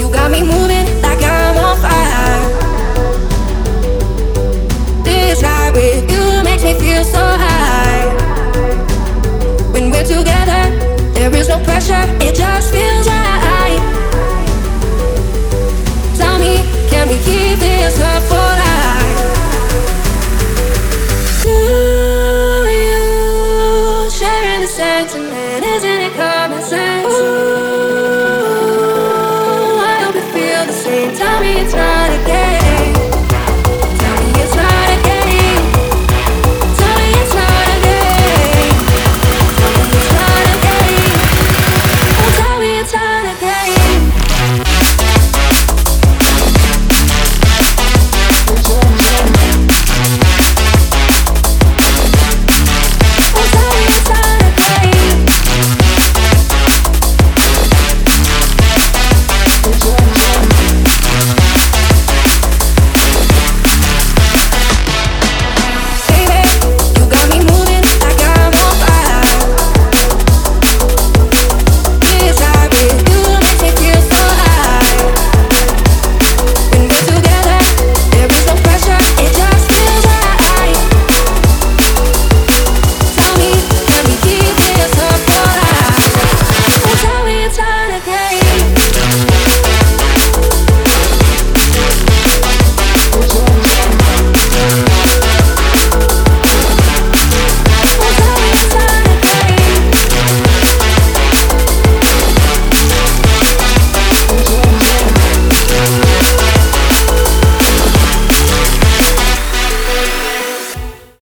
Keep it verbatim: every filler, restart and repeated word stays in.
got me moving like I'm on fire. This ride with you makes me feel so high. When we're together, there is no pressure, it just feels right. Tell me, can we keep this love for life? Do you sharing the sentiment? Isn't it common sense? Ooh, I hope you feel the same. Tell me it's not.